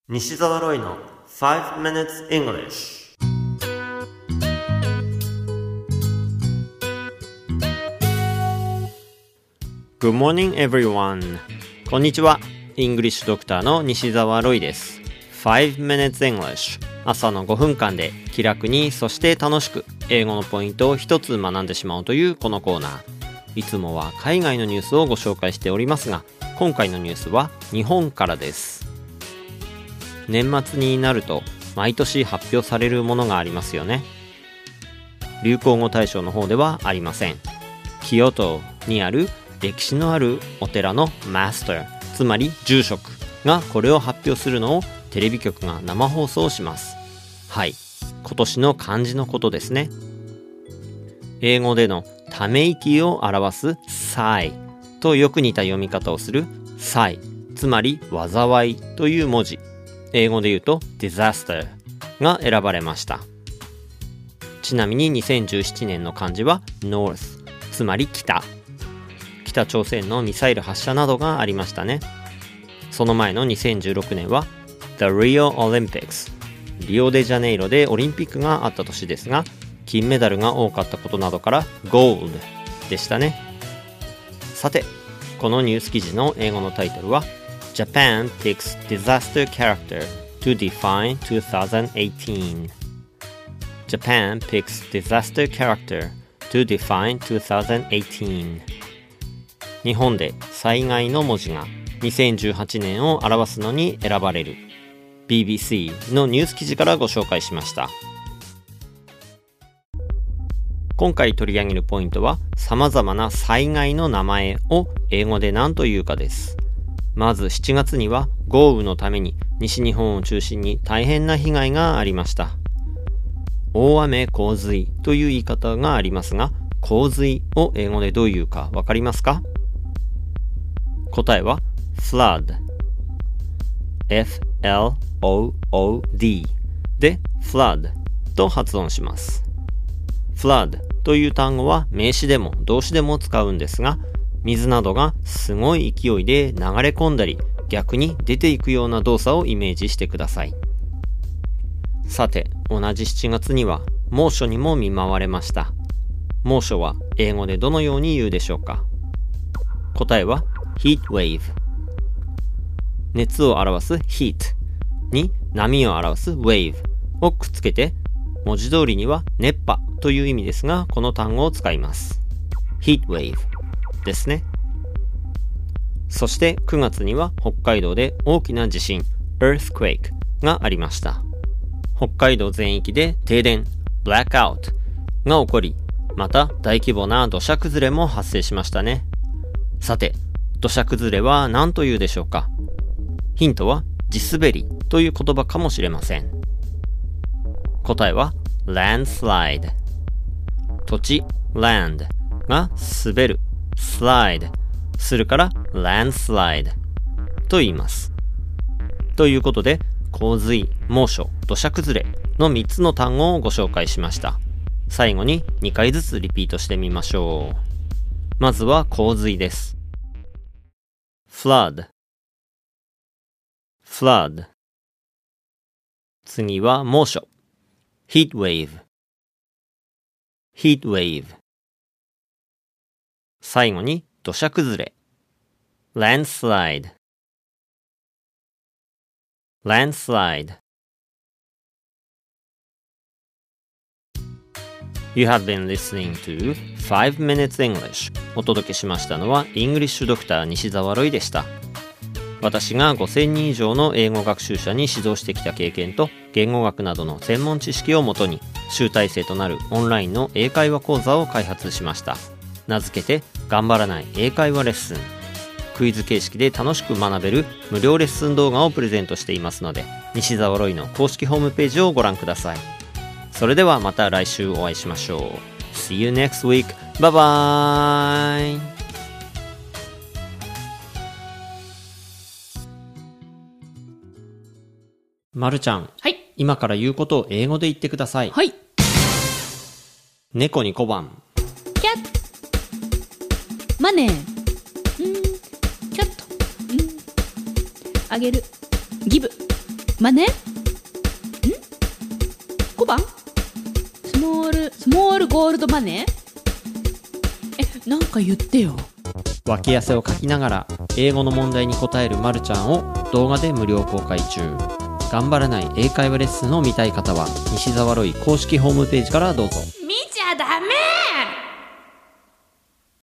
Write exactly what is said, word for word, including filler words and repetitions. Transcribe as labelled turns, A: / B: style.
A: 西澤ロイの five minutes English。 Good morning everyone。 こんにちは。イングリッシュドクターの西澤ロイです。 five minutes English、 朝のごふんかんで気楽にそして楽しく英語のポイントを一つ学んでしまおうというこのコーナー。いつもは海外のニュースをご紹介しておりますが、今回のニュースは日本からです。年末になると毎年発表されるものがありますよね。流行語大賞の方ではありません。京都にある歴史のあるお寺のマスター、つまり住職がこれを発表するのをテレビ局が生放送します。はい、今年の漢字のことですね。英語でのため息を表す sigh とよく似た読み方をする sigh、 つまり災いという文字、英語で言うと disaster が選ばれました。ちなみににせんじゅうななねんの漢字は north、 つまり北。北朝鮮のミサイル発射などがありましたね。その前のにせんじゅうろくねんは The Rio Olympics、 リオデジャネイロでオリンピックがあった年ですが、金メダルが多かったことなどから Gold でしたね。さて、このニュース記事の英語のタイトルはJapan picks disaster character to define twenty eighteen。 Japan picks disaster character to define twenty eighteen。 日本で災害の文字がにせんじゅうはちねんを表すのに選ばれる。 ビービーシー のニュース記事からご紹介しました。今回取り上げるポイントは、様々な災害の名前を英語で何というかです。まずしちがつには豪雨のために西日本を中心に大変な被害がありました。大雨洪水という言い方がありますが、洪水を英語でどういうかわかりますか？答えは flood、 エフエルオーオーディー で flood と発音します。flood という単語は名詞でも動詞でも使うんですが、水などがすごい勢いで流れ込んだり逆に出ていくような動作をイメージしてください。さて、同じしちがつには猛暑にも見舞われました。猛暑は英語でどのように言うでしょうか？答えは heat wave。 熱を表す heat に波を表す wave をくっつけて、文字通りには熱波という意味ですが、この単語を使います。 heat waveですね。そしてくがつには北海道で大きな地震 earthquake がありました。北海道全域で停電 blackout が起こり、また大規模な土砂崩れも発生しましたね。さて、土砂崩れは何というでしょうか？ヒントは地滑りという言葉かもしれません。答えは landslide。 土地 land が滑るslide するから landslide と言います。ということで、洪水、猛暑、土砂崩れのみっつの単語をご紹介しました。最後ににかいずつリピートしてみましょう。まずは洪水です。 flood flood。 次は猛暑 heat wave heat wave。最後に土砂崩れ landslide landslide。 You have been listening to five minutes English。 お届けしましたのはイングリッシュドクター西澤ロイでした。私がごせんにん以上の英語学習者に指導してきた経験と言語学などの専門知識をもとに、集大成となるオンラインの英会話講座を開発しました。名付けて頑張らない英会話レッスン。クイズ形式で楽しく学べる無料レッスン動画をプレゼントしていますので、西澤ロイの公式ホームページをご覧ください。それではまた来週お会いしましょう。 See you next week. Bye bye。 まるちゃん、
B: はい、
A: 今から言うことを英語で言ってください。
B: はい。
A: 猫に小判。
B: キャッマネー。うんキャット。うんあげる。ギブ。 マネ？ん ?ご 番スモール、スモールゴールドマネー？え、なんか言ってよ。
A: 脇汗をかきながら英語の問題に答えるまるちゃんを動画で無料公開中。頑張らない英会話レッスンを見たい方は西澤ロイ公式ホームページからどうぞ。